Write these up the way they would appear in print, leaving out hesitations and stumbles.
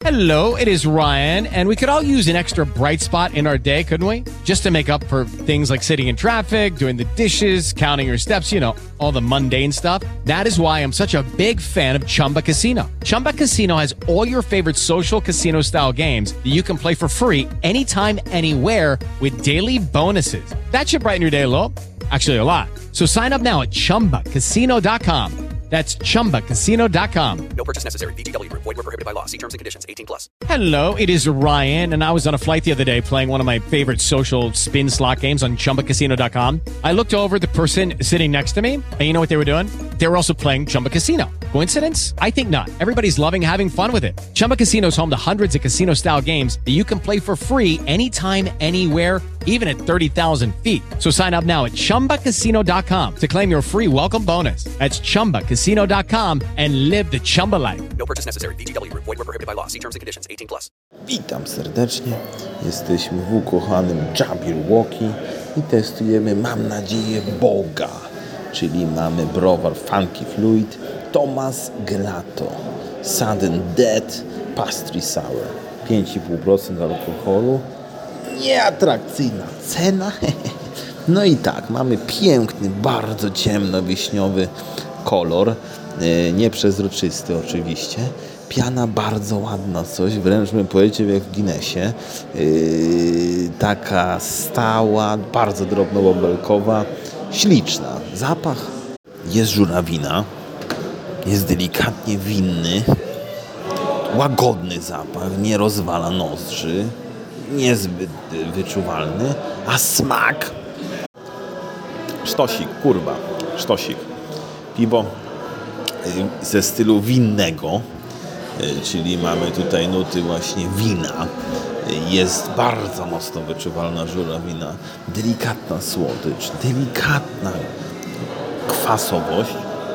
Hello, it is Ryan, and we could all use an extra bright spot in our day, couldn't we? Just to make up for things like sitting in traffic, doing the dishes, counting your steps, you know, all the mundane stuff. That is why I'm such a big fan of Chumba Casino. Chumba Casino has all your favorite social casino-style games that you can play for free anytime, anywhere with daily bonuses. That should brighten your day a little. Actually, a lot. So sign up now at ChumbaCasino.com. That's ChumbaCasino.com. No purchase necessary. VGW Group. Void where prohibited by law. See terms and conditions. 18+. Hello, it is Ryan, and I was on a flight the other day playing one of my favorite social spin slot games on ChumbaCasino.com. I looked over at the person sitting next to me, and you know what they were doing? They were also playing Chumba Casino. Coincidence? I think not. Everybody's loving having fun with it. Chumba Casino is home to hundreds of casino-style games that you can play for free anytime, anywhere, even at 30,000 feet. So sign up now at ChumbaCasino.com to claim your free welcome bonus. That's ChumbaCasino.com and live the Chumba life. No purchase necessary. VGW Group. Void where prohibited by law. See terms and conditions. 18+. Witam serdecznie. Jesteśmy w ukochanym Jabberwocky i testujemy, mam nadzieję, Boga. Czyli mamy browar Funky Fluid, Thomas Gelato, Sudden Death, Pastry Sour. 5,5% alkoholu. Nieatrakcyjna cena. No i tak, mamy piękny, bardzo ciemno-wiśniowy kolor. Nieprzezroczysty oczywiście. Piana bardzo ładna, coś wręcz bym powiedział jak w Guinnessie. Taka stała, bardzo drobnobąbelkowa, śliczna. Zapach jest żurawina, jest delikatnie winny, łagodny zapach, nie rozwala nozdrzy, niezbyt wyczuwalny, a smak sztosik, kurwa, sztosik. Piwo ze stylu winnego, czyli mamy tutaj nuty właśnie wina. Jest bardzo mocno wyczuwalna żurawina, delikatna słodycz, delikatna kwasowość,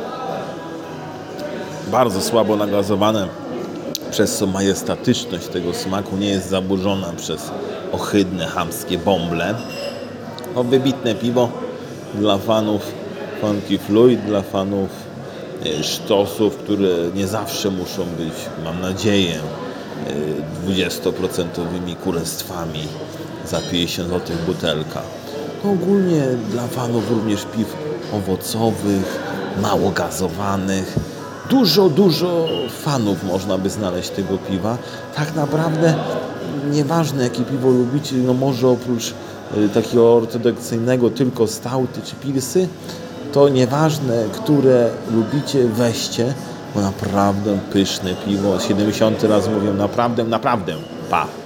bardzo słabo nagazowane, przez co majestatyczność tego smaku nie jest zaburzona przez ohydne, chamskie bąble. No, wybitne piwo dla fanów Funky Fluid, dla fanów sztosów, które nie zawsze muszą być, mam nadzieję, 20% kurestwami za 50 zł butelka. No, ogólnie dla fanów również piw owocowych, mało gazowanych. Dużo fanów można by znaleźć tego piwa. Tak naprawdę nieważne jakie piwo lubicie, no może oprócz takiego ortodoksyjnego tylko stouty czy pilsy, to nieważne, które lubicie, weźcie, bo naprawdę pyszne piwo. 70 raz mówię, naprawdę. Pa!